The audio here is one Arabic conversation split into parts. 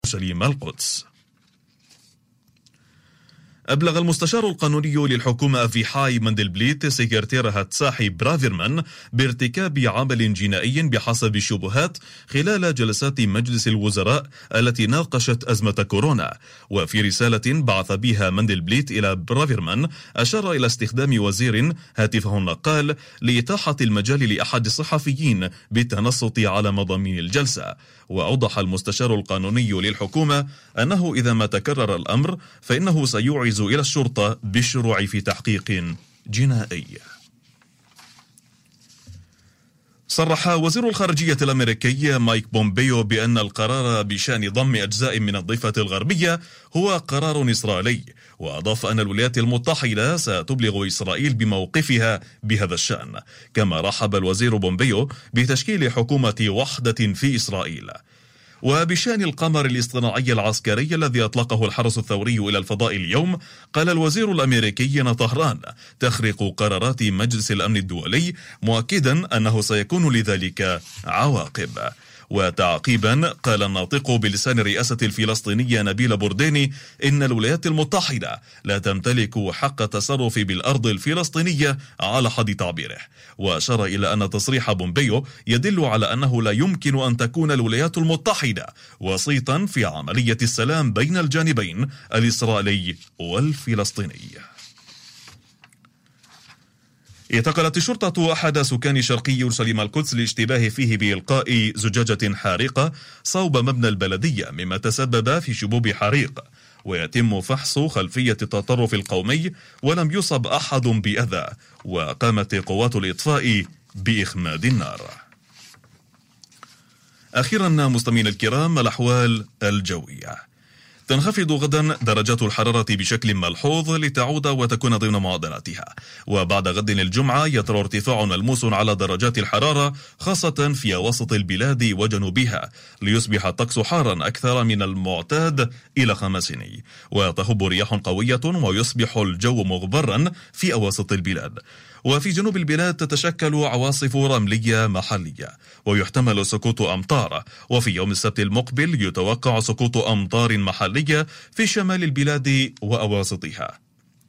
أورشليم القدس. أبلغ المستشار القانوني للحكومة أفيحاي مندلبليت سكرتيرها تساحي برافيرمان بارتكاب عمل جنائي بحسب الشبهات خلال جلسات مجلس الوزراء التي ناقشت أزمة كورونا. وفي رسالة بعث بها مندلبليت إلى برافيرمان أشار إلى استخدام وزير هاتفه النقال لإتاحة المجال لأحد الصحفيين بالتنصت على مضامين الجلسة. وأوضح المستشار القانوني للحكومة أنه إذا ما تكرر الأمر فإنه سيوعز إلى الشرطة بالشروع في تحقيق جنائي. صرح وزير الخارجية الأمريكي مايك بومبيو بأن القرار بشأن ضم أجزاء من الضفة الغربية هو قرار إسرائيلي، وأضاف أن الولايات المتحدة ستبلغ إسرائيل بموقفها بهذا الشأن. كما رحب الوزير بومبيو بتشكيل حكومة وحدة في إسرائيل. وبشأن القمر الاصطناعي العسكري الذي أطلقه الحرس الثوري إلى الفضاء اليوم، قال الوزير الأمريكي أن طهران تخرق قرارات مجلس الأمن الدولي، مؤكدا أنه سيكون لذلك عواقب. وتعقيبا قال الناطق بلسان الرئاسة الفلسطينية نبيل بورديني إن الولايات المتحدة لا تمتلك حق التصرف بالأرض الفلسطينية على حد تعبيره. وأشار إلى أن تصريح بومبيو يدل على أنه لا يمكن أن تكون الولايات المتحدة وسيطا في عملية السلام بين الجانبين الإسرائيلي والفلسطيني. اعتقلت الشرطة أحد سكان شرقي أورشليم القدس لاشتباه فيه بإلقاء زجاجة حارقة صوب مبنى البلدية، مما تسبب في شبوب حريق. ويتم فحص خلفية التطرف القومي، ولم يصب أحد بأذى، وقامت قوات الإطفاء بإخماد النار. أخيرا مستمعينا الكرام، الأحوال الجوية. تنخفض غدا درجات الحرارة بشكل ملحوظ لتعود وتكون ضمن معدلاتها. وبعد غد الجمعة يطرأ ارتفاع ملموس على درجات الحرارة خاصة في وسط البلاد وجنوبها، ليصبح الطقس حارا أكثر من المعتاد إلى خمسيني، وتهب رياح قوية ويصبح الجو مغبرا في أواسط البلاد. وفي جنوب البلاد تتشكل عواصف رملية محلية، ويحتمل سقوط أمطار. وفي يوم السبت المقبل يتوقع سقوط أمطار محلية في شمال البلاد وأواسطها،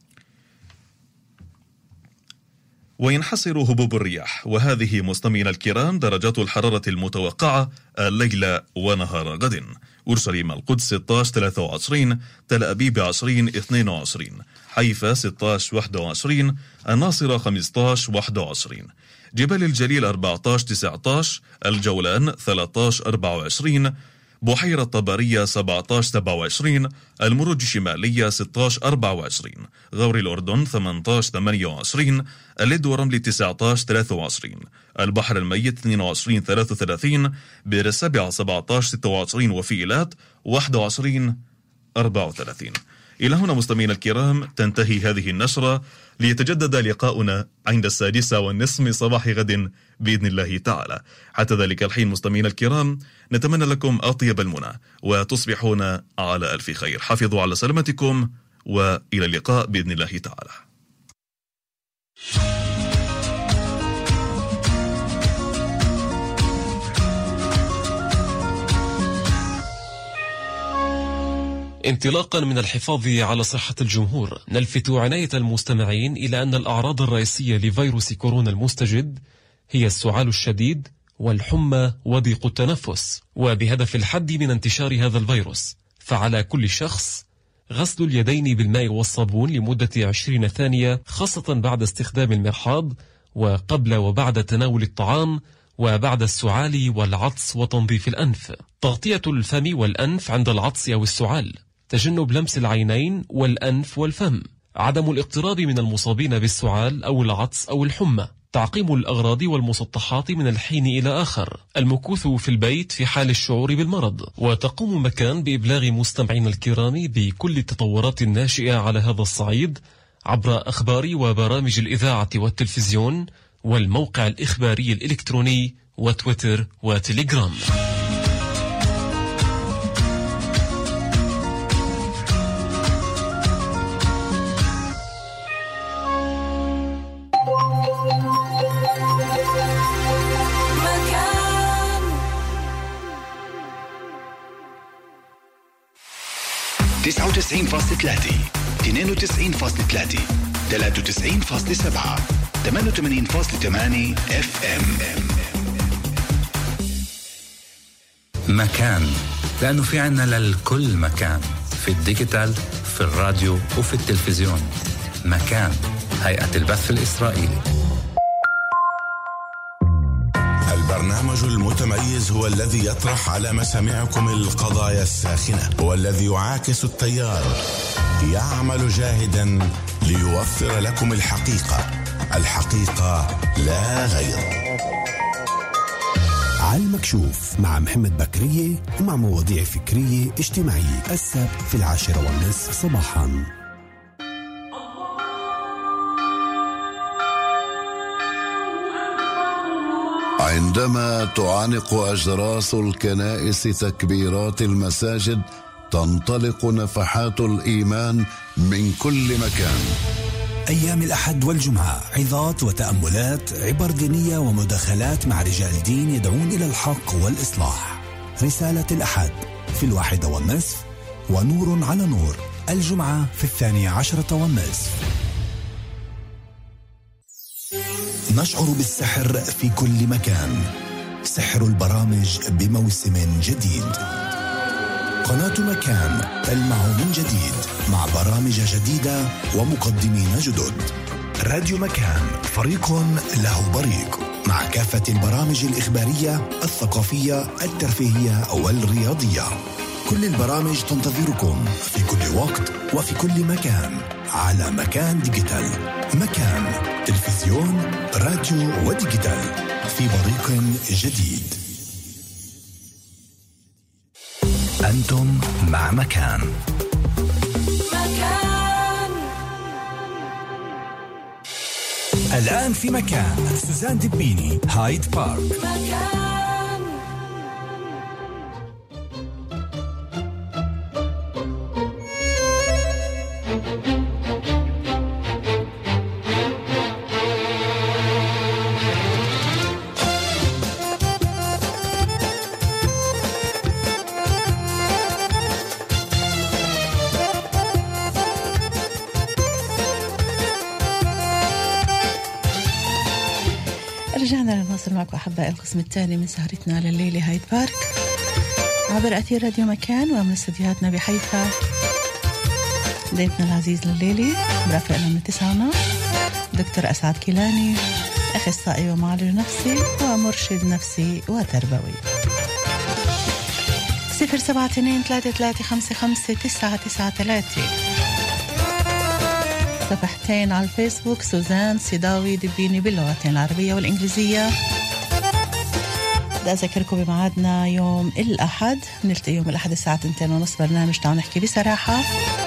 وينحصر هبوب الرياح. وهذه مستمعينا الكرام درجات الحرارة المتوقعة الليلة ونهار غد: أورشليم القدس 16 23، تل أبيب 20 22، حيفا 16 21، الناصرة 15 21، جبال الجليل 14 19، الجولان 13 24، بحيرة طبرية 17 27، المروج الشمالية 16 24، غور الأردن 18 28، اللد ورمل 19 23، البحر الميت 22 33، بئر السبع 17 26، وفي إيلات 21 34. إلى هنا مستمعينا الكرام تنتهي هذه النشرة، ليتجدد لقاؤنا عند 6:30 من صباح غد بإذن الله تعالى. حتى ذلك الحين مستمعينا الكرام نتمنى لكم أطيب المنى، وتصبحون على ألف خير. حافظوا على سلامتكم، وإلى اللقاء بإذن الله تعالى. انطلاقا من الحفاظ على صحة الجمهور، نلفت عناية المستمعين إلى أن الأعراض الرئيسية لفيروس كورونا المستجد هي السعال الشديد والحمى وضيق التنفس. وبهدف الحد من انتشار هذا الفيروس، فعلى كل شخص غسل اليدين بالماء والصابون لمدة 20 ثانية، خاصة بعد استخدام المرحاض، وقبل وبعد تناول الطعام، وبعد السعال والعطس، وتنظيف الأنف. تغطية الفم والأنف عند العطس أو السعال، تجنب لمس العينين والأنف والفم، عدم الاقتراب من المصابين بالسعال أو العطس أو الحمى، تعقيم الأغراض والمسطحات من الحين إلى آخر، المكوث في البيت في حال الشعور بالمرض. وتقوم مكان بإبلاغ مستمعين الكرام بكل التطورات الناشئة على هذا الصعيد عبر أخبار وبرامج الإذاعة والتلفزيون والموقع الإخباري الإلكتروني وتويتر وتليجرام. 99.3 92.3 93.7 88.8 FM. مكان، لأنه في عنا للكل مكان، في الديجيتال، في الراديو وفي التلفزيون. مكان، هيئة البث الإسرائيلي. البرنامج المتميز هو الذي يطرح على مسامعكم القضايا الساخنة، هو الذي يعاكس التيار، يعمل جاهدا ليوفر لكم الحقيقة لا غير. على المكشوف مع محمد بكرية ومع مواضيع فكرية اجتماعية، السبت في 10:30 صباحا. عندما تعانق أجراس الكنائس تكبيرات المساجد، تنطلق نفحات الإيمان من كل مكان. أيام الأحد والجمعة عظات وتأملات، عبر دينية ومداخلات مع رجال دين يدعون إلى الحق والإصلاح. رسالة الأحد في 1:30 ونور على نور الجمعة في 12:30. نشعر بالسحر في كل مكان، سحر البرامج بموسم جديد. قناة مكان تلمع من جديد مع برامج جديدة ومقدمين جدد. راديو مكان فريق له بريق مع كافة البرامج الإخبارية الثقافية الترفيهية والرياضية. كل البرامج تنتظركم في كل وقت وفي كل مكان على مكان ديجيتال. مكان تلفزيون راديو وديجيتال في بريق جديد. أنتم مع مكان. الآن في مكان سوزان دبيني، هايد بارك. رجعنا لنواصل معكم أحبائي القسم الثاني من سهرتنا لليلة هايد بارك عبر أثير راديو مكان ومن استديوهاتنا بحيفا. ضيفنا العزيز لليلة برافقنا من 9 دكتور أسعد كيلاني، أخصائي ومعالج نفسي ومرشد نفسي وتربوي. 072-3355-993. صفحتين على الفيسبوك سوزان سيداوي دبيني باللغتين العربية والإنجليزية. بدي أذكركم بمعادنا يوم الأحد، نلتقي يوم الأحد الساعة 2:30 برنامج تعالوا نحكي بصراحة.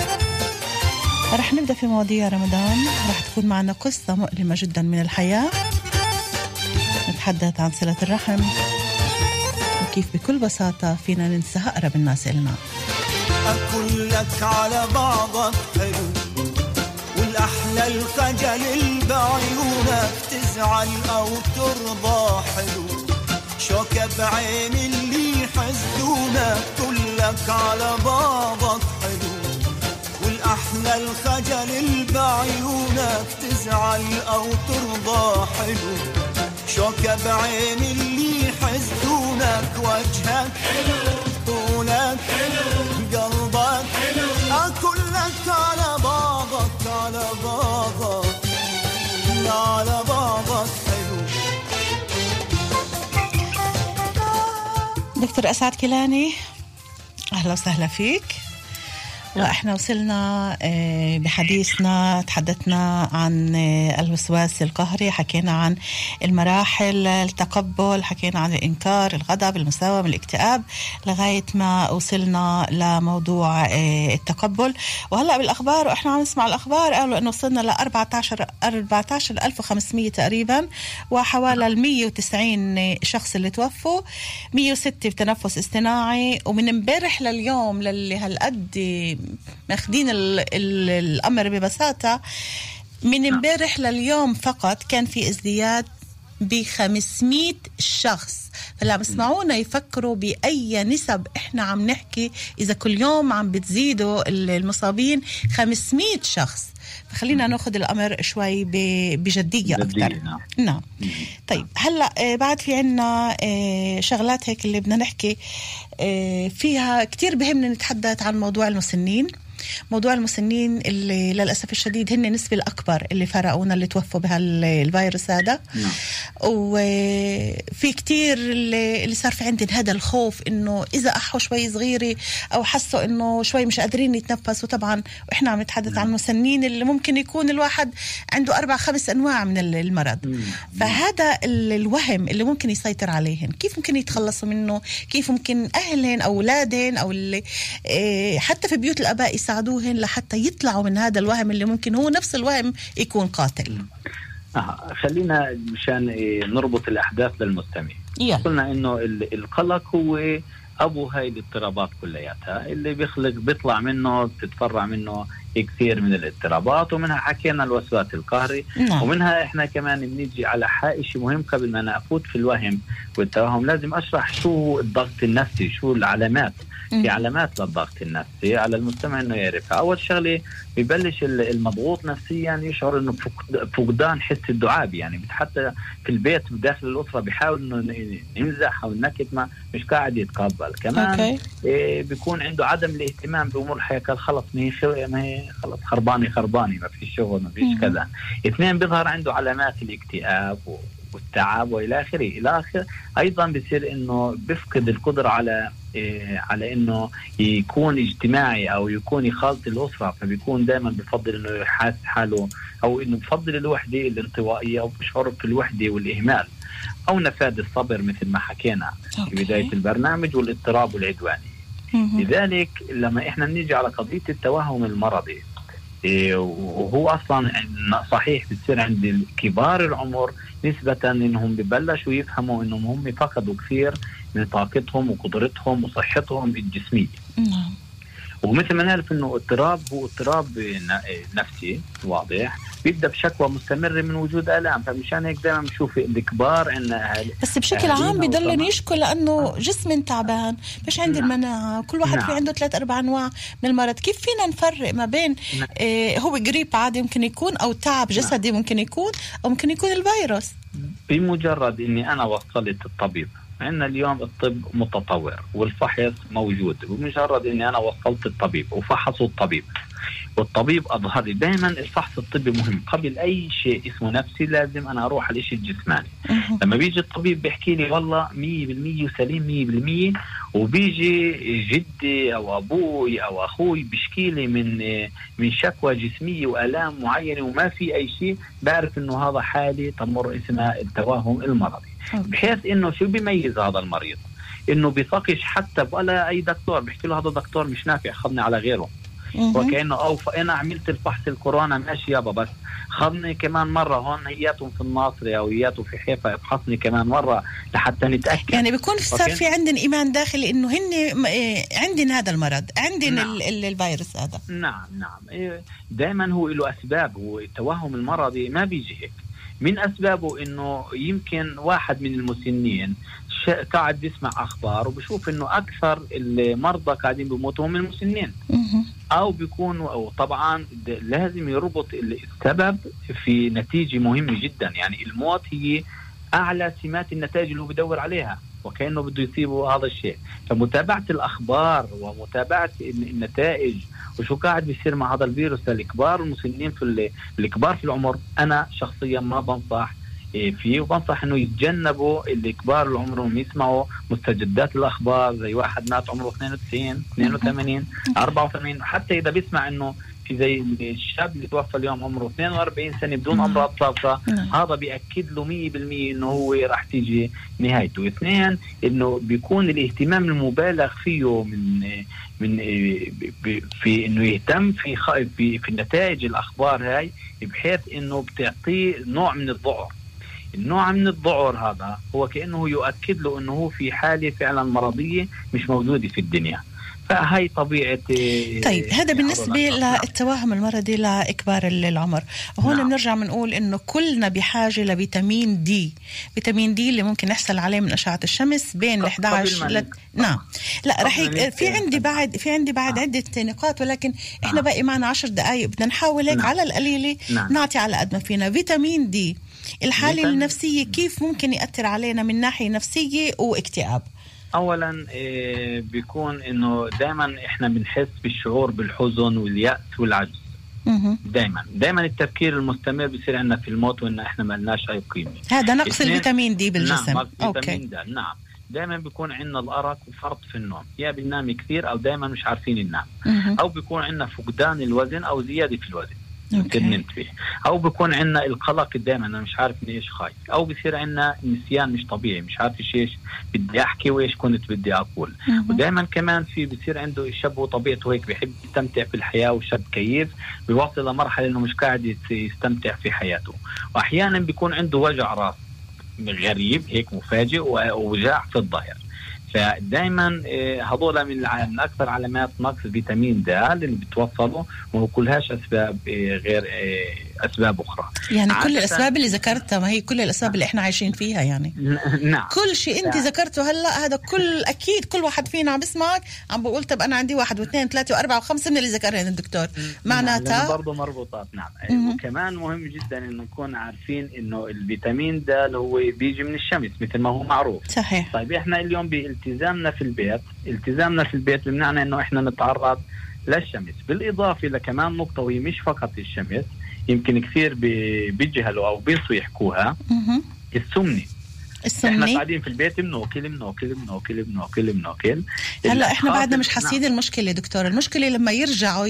رح نبدأ في مواضيع رمضان، رح تكون معنا قصة مؤلمة جدا من الحياة، نتحدث عن صلة الرحم وكيف بكل بساطة فينا ننسى أقرب الناس إلنا. أقول لك على بعضك حلو والأحلى الخجل بعيونك تزعل أو ترضى حلو، شوكة بعين اللي حسدونك كلك على بعضك حلو والأحلى الخجل بعيونك تزعل أو ترضى حلو، شوكة بعين اللي حسدونك وجهك حلو طولك حلو قلبك حلو أكلك على بعضك على بعضك على بعضك حلو. دكتور أسعد كيلاني أهلا وسهلا فيك. وإحنا وصلنا بحديثنا تحدثنا عن الوسواس القهري، حكينا عن المراحل، التقبل، حكينا عن الإنكار، الغضب، المساومة، الاكتئاب، لغاية ما وصلنا لموضوع التقبل. وهلأ بالأخبار وإحنا عم نسمع الأخبار قالوا إنه وصلنا ل 14,500 تقريبا، وحوالي 190 شخص اللي توفوا، 106 بتنفس اصطناعي. ومن امبارح لليوم للي هالقد ماخدين الأمر ببساطة، من امبارح لليوم فقط كان في ازدياد ب500 شخص. فلا بسمعونا يفكروا بأي نسب إحنا عم نحكي إذا كل يوم عم بتزيدوا المصابين 500 شخص. فخلينا ناخذ الأمر شوي بجدية أكثر. نعم. طيب هلأ بعد في عنا شغلات هيك اللي بدنا نحكي فيها كتير. بهمنا نتحدث عن موضوع المسنين. موضوع المسنين اللي للأسف الشديد هن النسبة الأكبر اللي فرقونا، اللي توفوا بها الفيروس هذا. وفي كتير اللي صار في عندهم هذا الخوف إنه إذا أحوا شوي صغيرة أو حسوا إنه شوي مش قادرين يتنفسوا. طبعا وإحنا عم نتحدث عن المسنين اللي ممكن يكون الواحد عنده 4-5 أنواع من المرض. فهذا الوهم اللي ممكن يسيطر عليهم، كيف ممكن يتخلصوا منه؟ كيف ممكن أهلهم أو أولادهم أو اللي حتى في بيوت الآباء يساعدوهن لحتى يطلعوا من هذا الوهم اللي ممكن هو نفس الوهم يكون قاتل؟ خلينا مشان نربط الأحداث للمستمع. قلنا إنه القلق هو أبو هاي الاضطرابات كلياتها، اللي بيطلع منه بتتفرع منه كثير من الاضطرابات، ومنها حكينا الوسواس القهري. ومنها احنا كمان بنيجي على شيء مهم قبل ما نفوت في الوهم والتوهم. لازم اشرح شو الضغط النفسي، شو العلامات. في علامات للضغط النفسي على المستمع انه يعرفها. اول شغله بيبلش المضغوط نفسيا يشعر انه فقدان حس الدعابه، يعني حتى في البيت داخل الاسره بيحاول انه يمزح او ينكت ما مش قاعد يتقبل. كمان بيكون عنده عدم الاهتمام بامور الحياه، قال خلص ما هي خلص خرباني ما فيش شغل ما فيش كذا. اثنين بيظهر عنده علامات الاكتئاب والتعب والى اخره. ايضا بيصير انه بيفقد القدره على انه يكون اجتماعي او يكون يخالط الاسره، فبيكون دائما بفضل انه يحس حاله او انه بفضل الوحده الانطوائيه، او بيشعر بالوحده والاهمال، او نفاذ الصبر مثل ما حكينا في بدايه البرنامج، والاضطراب والعدواني. لذلك لما احنا بنيجي على قضيه التوهم المرضي، وهو اصلا صحيح بتصير عند كبار العمر نسبة انهم ببلشوا يفهموا انهم هم فقدوا كثير من طاقتهم وقدرتهم وصحتهم الجسمية. ومثل ما نعرف انه اضطراب هو اضطراب نفسي واضح، بيبدا بشكوى مستمره من وجود الام. فمشان هيك دائما بنشوف الكبار عندنا بس بشكل عام بيضلن يشكوا لانه جسم تعبان، مش عندي المناعه. كل واحد في عنده 3-4 انواع من المرض. كيف فينا نفرق ما بين هو جريب عادي ممكن يكون، او تعب جسدي ممكن يكون، او ممكن يكون الفيروس؟ بمجرد اني انا وصلت الطبيب، عندنا اليوم الطب متطور والفحص موجود، بمجرد اني انا وصلت الطبيب وفحصوا الطبيب والطبيب اظهر لي، دائما الفحص الطبي مهم قبل اي شيء اسمه نفسي. لازم انا اروح على الشيء الجسماني. لما بيجي الطبيب بيحكي لي والله 100% وسليم 100%، وبيجي جدي او ابوي او اخوي بيشكي لي من شكوى جسميه والام معينه وما في اي شيء، بعرف انه هذا حالي تمر اسمها التوهم المرضي. بحيث انه شو بيميز هذا المريض؟ انه بيثقش حتى ولا اي دكتور، بيحكي له هذا دكتور مش نافع، خذني على غيره. وكأنه انا عملت الفحص الكورونا ماشي يابا، بس خذني كمان مره هون هياتهم في الناصري او هياتهم في حيفا، افحصني كمان مره لحتى نتاكد. يعني بيكون صار في عندنا ايمان داخلي انه هن عندنا هذا المرض، عندنا الفيروس هذا. نعم دائما هو له اسباب. والتوهم المرضي ما بيجي هيك. من أسبابه إنه يمكن واحد من المسنين قاعد بيسمع أخبار وبشوف إنه أكثر المرضى قاعدين بيموتوا من المسنين، أو بيكون، أو طبعا لازم يربط السبب في نتيجة مهمة جدا. يعني الموت هي أعلى سمات النتائج اللي هو بدور عليها، وكأنه بده يصيبه هذا الشيء. فمتابعة الأخبار ومتابعة النتائج وشو قاعد بيصير مع هذا الفيروس للكبار والمسنين الكبار في العمر، أنا شخصيا ما بنصح فيه، وبنصح إنه يتجنبوا الكبار العمر انهم يسمعوا مستجدات الأخبار زي واحد مات عمره 92 82 84. حتى إذا بيسمع إنه في زي الشاب اللي توفى اليوم عمره 42 سنة بدون أمراض سابقة، هذا بيأكد له 100% إنه هو راح تيجي نهايته. اثنين، إنه بيكون الاهتمام المبالغ فيه من في إنه يهتم في النتائج الأخبار هاي، بحيث إنه بتعطيه نوع من الذعر. النوع من الذعر هذا هو كأنه يؤكد له إنه هو في حالة فعلا مرضية مش موجودة في الدنيا. فهي طبيعة. طيب هذا بالنسبة للتوهم المرضي لإكبار العمر. هون بنرجع بنقول إنه كلنا بحاجة لفيتامين دي. فيتامين دي اللي ممكن نحصل عليه من أشعة الشمس بين 11 نعم. لا رح في عندي بعد عدة نقاط، ولكن إحنا باقي معنا 10 دقائق، بدنا نحاول هيك على القليلة نعطي على قد ما فينا. فيتامين دي الحالة النفسية كيف ممكن يأثر علينا من ناحية نفسية واكتئاب؟ اولا بيكون انه دائما احنا بنحس بالشعور بالحزن واليأس والعجز. دائما التفكير المستمر بيصير عندنا في الموت وان احنا ما لناش اي قيمه. هذا نقص الفيتامين دي بالجسم. نعم فيتامين د. نعم دائما بيكون عندنا الارق وفرط في النوم، يا بننام كثير او دائما مش عارفين ننام، او بيكون عندنا فقدان الوزن او زياده في الوزن فيه، او بيكون عندنا القلق دائما انا مش عارف اني ايش خايف، او بيصير عندنا نسيان مش طبيعي، مش عارف ايش بدي احكي وايش كنت بدي اقول. ودائما كمان في بيصير عنده الشاب وطبيعته هيك بيحب يستمتع في الحياه، وشاب كيف بيوصل لمرحله انه مش قاعد يستمتع في حياته، واحيانا بيكون عنده وجع راس غريب هيك مفاجئ ووجع في الظهر. فدائما هذول من اكثر علامات نقص فيتامين د اللي بتوصله، وهو كلهاش اسباب غير اسباب اخرى. يعني كل الاسباب اللي ذكرتها، ما هي كل الاسباب اللي احنا عايشين فيها يعني. نعم كل شيء انت ذكرته هلا هذا كل اكيد كل واحد فينا عم بسمعك عم بقول طب انا عندي 1 و2 و3 و4 و5 من اللي ذكرهم الدكتور، معناتها برضه مربوطات. نعم وكمان مهم جدا انه نكون عارفين انه الفيتامين د هو بيجي من الشمس مثل ما هو معروف. صحيح. طيب احنا اليوم بالتزامنا في البيت بمعنى انه احنا نتعرض للشمس، بالاضافه لكمان نقطه وهي مش فقط الشمس، يمكن كثير بيجهلوا او بينسوا يحكوها، السمنه. احنا قاعدين في البيت بناكل. هلا احنا بعدنا مش حاسين المشكله دكتور. المشكله لما يرجعوا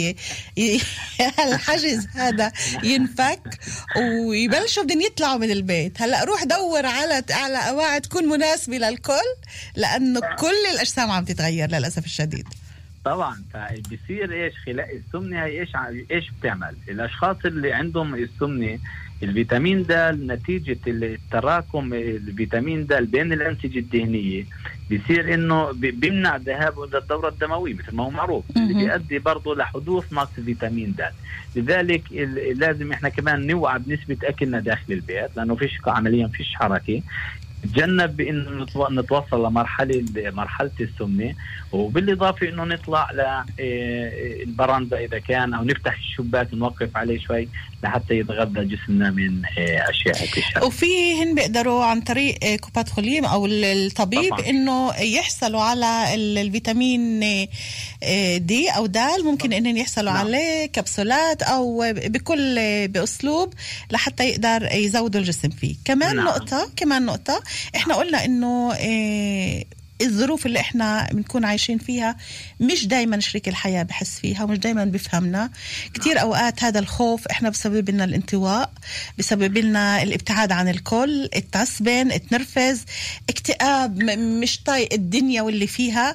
الحجز هذا ينفك ويبلشوا بدهم يطلعوا من البيت. هلا روح دور على قواعد تكون مناسبه للكل، لانه كل الاجسام عم تتغير للاسف الشديد. طبعا فبيصير ايش خلال السمنه هي ايش بتعمل الاشخاص اللي عندهم السمنه. الفيتامين د نتيجة التراكم الفيتامين د بين الأنسجة الدهنية بيصير إنه بيمنع ذهاب الدورة الدموية مثل ما هو معروف، اللي بيؤدي برضه لحدوث نقص فيتامين د. لذلك لازم إحنا كمان نوعى بنسبة أكلنا داخل البيت، لأنه عمليا فيش حركة. تجنب بأنه نتوصل مرحلة السمنة، وبالإضافة أنه نطلع للبرندة إذا كان، أو نفتح الشباك ونوقف عليه شوي لحتى يتغذى جسمنا من أشياء كشف. وفيهن بيقدروا عن طريق كوبات خليم أو الطبيب طبعاً إنه يحصلوا على الفيتامين دي أو دال، ممكن إنهم يحصلوا عليه كبسولات أو بأسلوب لحتى يقدر يزودوا الجسم فيه. كمان نقطة إحنا قلنا إنه الظروف اللي احنا بنكون عايشين فيها مش دايما شريك الحياة بحس فيها، ومش دايما بفهمنا. كتير اوقات هذا الخوف احنا بسبب لنا الانطواء، بسبب لنا الابتعاد عن الكل، التعصبن، التنرفز، اكتئاب، مش طايق الدنيا واللي فيها.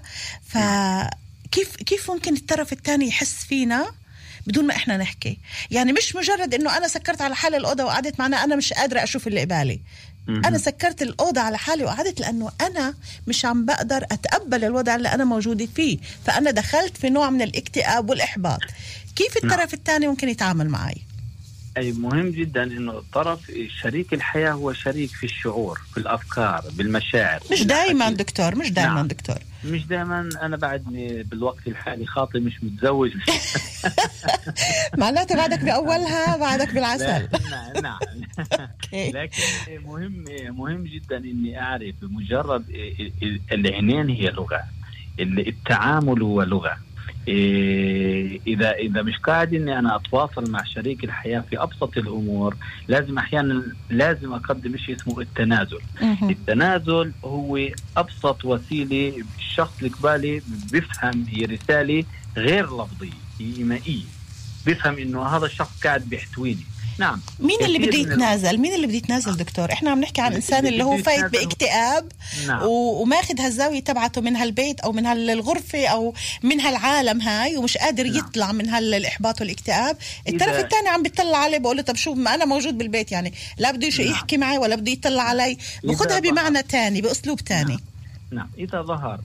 فكيف ممكن الطرف الثاني يحس فينا بدون ما احنا نحكي؟ يعني مش مجرد انه انا سكرت على حالي الأوضة وقعدت معنا انا مش قادرة اشوف اللي قبالي. أنا سكرت الأوضة على حالي وقعدت لأنه أنا مش عم بقدر أتقبل الوضع اللي أنا موجودة فيه، فأنا دخلت في نوع من الاكتئاب والإحباط. كيف الطرف الثاني ممكن يتعامل معي؟ أي مهم جدا إنه الطرف شريك الحياة هو شريك في الشعور، في الأفكار، بالمشاعر. مش دائما دكتور، مش دائما دكتور، مش دائما. أنا بعدني بالوقت الحالي خاطي مش متزوج. معناته بعدك بأولها بعدك بالعسل. نعم. لكن مهم جدا إني أعرف مجرد العينين هي لغة، التعامل هو لغة. إذا مش قاعد إني أنا أتواصل مع شريك الحياة في أبسط الأمور، أحيانا لازم أقدم شيء اسمه التنازل. التنازل هو أبسط وسيلة الشخص القبالي بيفهم هي رسالة غير لفظية، هي إيمائية، بيفهم إنه هذا الشخص قاعد بيحتويني. نعم. مين اللي بده يتنازل؟ مين اللي بده يتنازل دكتور؟ احنا عم نحكي عن انسان اللي هو فايت باكتئاب. نعم. وماخذ هالزاويه تبعته من هالبيت او من هالغرفه او من هالعالم هاي، ومش قادر يطلع من هالاحباط والاكتئاب. الطرف الثاني عم بيطلع عليه بقول له طب شو ما انا موجود بالبيت، يعني لا بده يحكي معي ولا بده يطلع علي، بخدها بمعنى تاني باسلوب تاني. نعم. اذا ظهر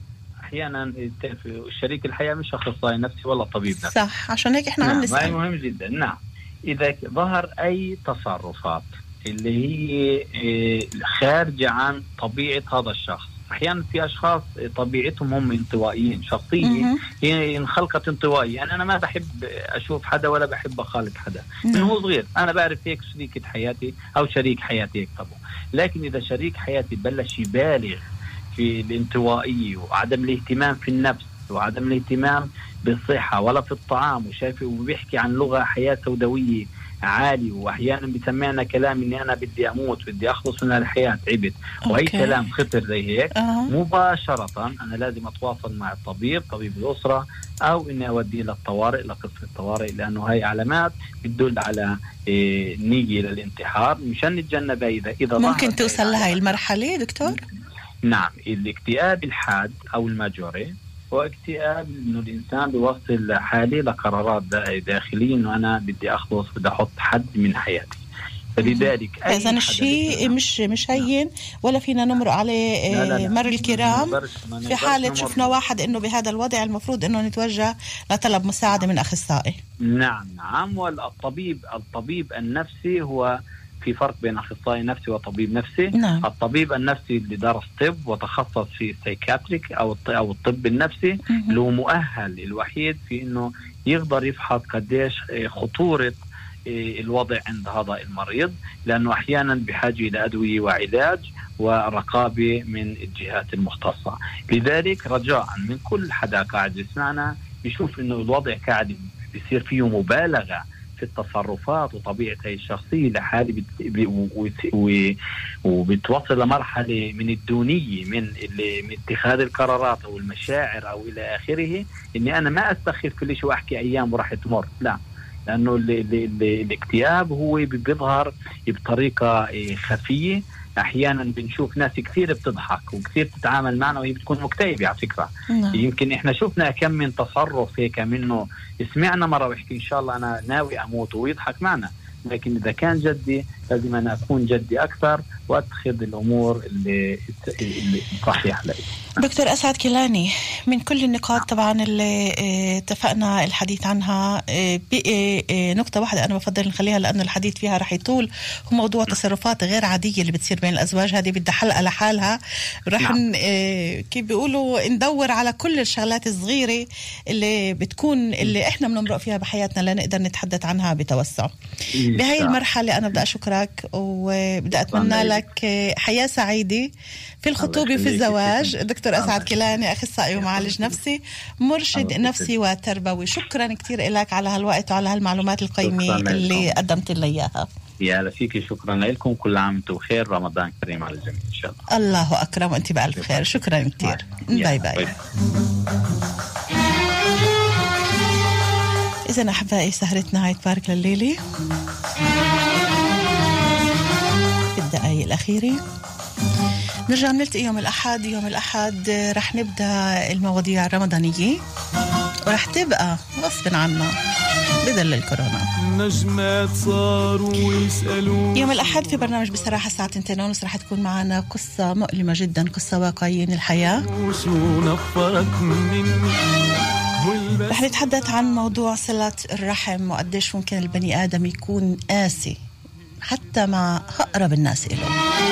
أحيانا شريك الحياة مش أخصائي نفسي ولا طبيب نفسي. صح، عشان هيك إحنا عم نسأل. مهم جدا. نعم، إذا ظهر أي تصرفات اللي هي خارجة عن طبيعة هذا الشخص. أحيانا في أشخاص طبيعتهم هم انطوائيين، شخصية هي انخلقت انطوائية. يعني أنا ما بحب أشوف حدا ولا بحب أخالط حدا من هو صغير. أنا بعرف هيك شريكة حياتي أو شريك حياتي هيك طبعا. لكن إذا شريك حياتي بلش يبالغ في الانطوائية وعدم الاهتمام في النفس وعدم الاهتمام بالصحة ولا في الطعام، وشايف وبيحكي عن لغة حياة سوداوية عالي، واحيانا بيسمعنا كلام اني انا بدي اموت، بدي اخلص من الحياه، تعبت، واي كلام خطر زي هيك، مباشره انا لازم اتواصل مع الطبيب، طبيب الاسره، او اني اوديه للطوارئ، لقسم الطوارئ، لانه هاي علامات بتدل على نية للانتحار. مشان نتجنبها اذا ممكن توصل لهي المرحله دكتور. نعم، الاكتئاب الحاد او الماجوري هو اكتئاب انه الانسان بيوصل حالي لقرارات داخليه انه انا بدي اخلص، بدي احط حد من حياتي. فلذلك اذا الشيء مش هين ولا فينا نمرق عليه. لا. مر الكرام في حاله شفنا واحد انه بهذا الوضع المفروض انه نتوجه لطلب مساعده من اخصائي. نعم. والطبيب النفسي هو في فرق بين أخصائي نفسي وطبيب نفسي. نعم. الطبيب النفسي اللي درس طب وتخصص في السايكاتريك أو الطب النفسي له مؤهل الوحيد في إنه يقدر يفحص قديش خطورة الوضع عند هذا المريض، لأنه أحيانا بحاجة إلى أدوية وعلاج ورقابة من الجهات المختصة. لذلك رجاء من كل حدا قاعد يسمعنا بيشوف إنه الوضع قاعد بيصير فيه مبالغة في التصرفات وطبيعة هي الشخصية لحالي وبتوصل لمرحلة من الدونية من اتخاذ القرارات أو المشاعر أو إلى آخره، إني أنا ما أستخف كل شيء وأحكي أيام وراح تمر. لا، لأنه الاكتئاب هو بيظهر بطريقة خفية. أحيانا بنشوف ناس كثير بتضحك وكثير تتعامل معنا وهي بتكون مكتئبة على فكرة. يمكن إحنا شفنا كم من تصرف هيك منه، سمعنا مرة ويحكي إن شاء الله أنا ناوي أموت ويضحك معنا، لكن إذا كان جدي لازم أنا أكون جدي أكثر وأتخذ الأمور اللي صحيحة لي. دكتور أسعد كيلاني، من كل النقاط طبعا اللي اتفقنا الحديث عنها، بقي نقطة واحدة أنا بفضل نخليها لأنه الحديث فيها رح يطول، هو موضوع تصرفات غير عادية اللي بتصير بين الأزواج. هذه بدها حلقة لحالها. رح كيف بيقولوا ندور على كل الشغلات الصغيرة اللي بتكون اللي إحنا بنمرق فيها بحياتنا لنقدر نتحدث عنها بتوسع. بهاي المرحلة أنا بدي أشكرك وبدي أتمنى لك حياة سعيدة في الخطوبة وفي الزواج. دكتور أسعد كيلاني، أخصائي ومعالج نفسي، مرشد نفسي وتربوي، شكرا كتير لك على هالوقت وعلى هالمعلومات القيمة اللي قدمت لي إياها. يا لفيكي، شكرا لكم، كل عام وانتم بخير، رمضان كريم على الجميع إن شاء الله. الله أكرم وأنت بألف خير. شكرا كتير. باي باي. إذن أحبائي، سهرتنا هاي تبارك لليلة في الدقائق الأخيرة. نرجع نلتقي يوم الأحد. يوم الأحد رح نبدأ المواضيع الرمضانية ورح تبقى غصب عنا بدل الكورونا. نجمات صاروا ويسألوا. يوم الأحد في برنامج بصراحة الساعة 2:30 رح تكون معنا قصة مؤلمة جدا، قصة واقعية من الحياة. رح نتحدث عن موضوع صلة الرحم وقديش ممكن البني آدم يكون قاسي حتى مع أقرب الناس إله.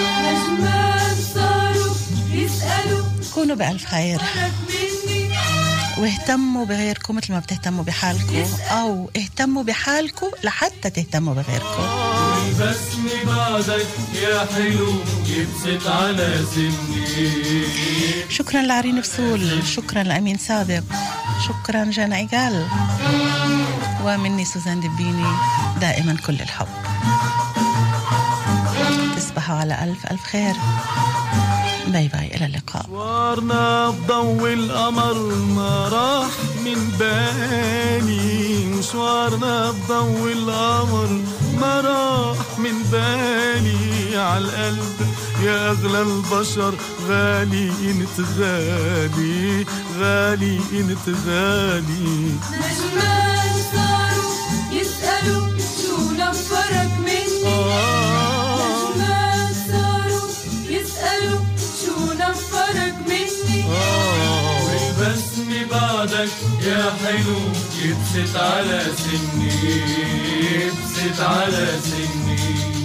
كونوا بألف خير واهتموا بغيركم مثل ما بتهتموا بحالكم، أو اهتموا بحالكم لحتى تهتموا بغيركم. بسني بعدك يا حلو يبسط على سني. شكرا لعرين فسول، شكرا لأمين سابق، شكرا جانا إيجال، ومني سوزان دبيني دائما كل الحب. تصبحوا على ألف ألف خير. باي باي، إلى اللقاء. مشوارنا بضوء القمر ما راح من بالي، مشوارنا بضوء القمر ما راح من بالي، عالقلب يا أغلى البشر غالي انت غالي، غالي انت غالي. نجمان صاروا يسألوا شو نفرك مني، نجمان صاروا يسألوا شو نفرك مني. يبسط على سني يبسط على سني